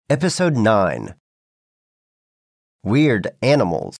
Episode 9 Weird Animals.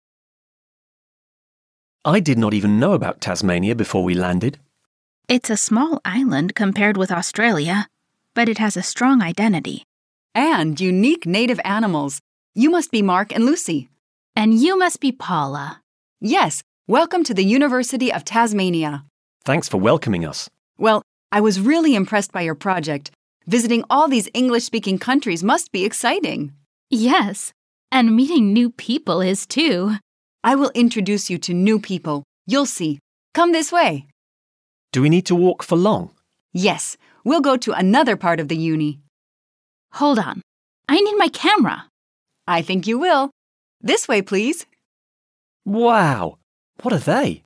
I did not even know about Tasmania before we landed. It's a small island compared with Australia, but it has a strong identity. And unique native animals. You must be Mark and Lucy. And you must be Paula. Yes, welcome to the University of Tasmania. Thanks for welcoming us. Well, I was really impressed by your project. Visiting all these English-speaking countries must be exciting. Yes, and meeting new people is too. I will introduce you to new people. You'll see. Come this way. Do we need to walk for long? Yes, we'll go to another part of the uni. Hold on. I need my camera. I think you will. This way, please. Wow! What are they?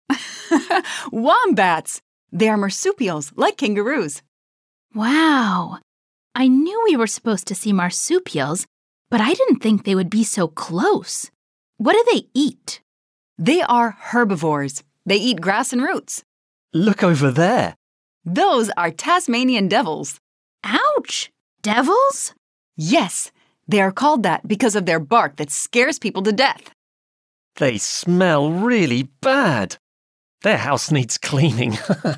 Wombats! They are marsupials, like kangaroos. Wow. I knew we were supposed to see marsupials, but I didn't think they would be so close. What do they eat? They are herbivores. They eat grass and roots. Look over there. Those are Tasmanian devils. Ouch! Devils? Yes, they are called that because of their bark that scares people to death. They smell really bad. Their house needs cleaning.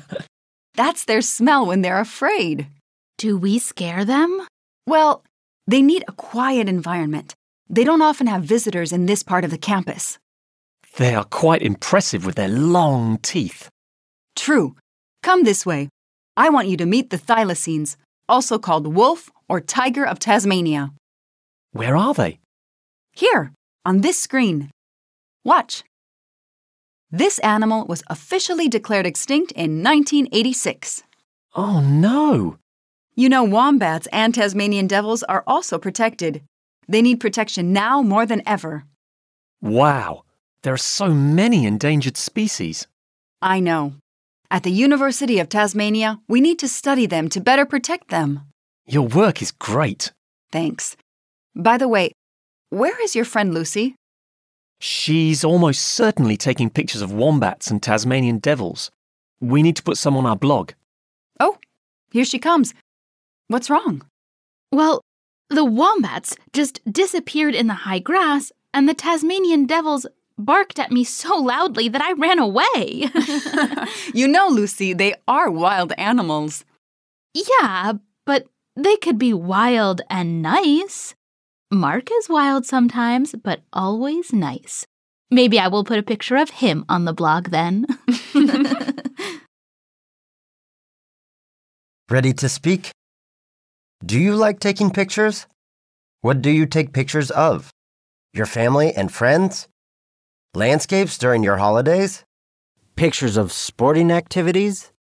That's their smell when they're afraid. Do we scare them? Well, they need a quiet environment. They don't often have visitors in this part of the campus. They are quite impressive with their long teeth. True. Come this way. I want you to meet the thylacines, also called wolf or tiger of Tasmania. Where are they? Here, on this screen. Watch. This animal was officially declared extinct in 1986. Oh no! You know, wombats and Tasmanian devils are also protected. They need protection now more than ever. Wow! There are so many endangered species. I know. At the University of Tasmania, we need to study them to better protect them. Your work is great. Thanks. By the way, where is your friend Lucy? She's almost certainly taking pictures of wombats and Tasmanian devils. We need to put some on our blog. Oh, here she comes. What's wrong? Well, the wombats just disappeared in the high grass, and the Tasmanian devils barked at me so loudly that I ran away. You know, Lucy, they are wild animals. Yeah, but they could be wild and nice. Mark is wild sometimes, but always nice. Maybe I will put a picture of him on the blog then. Ready to speak? Do you like taking pictures? What do you take pictures of? Your family and friends? Landscapes during your holidays? Pictures of sporting activities?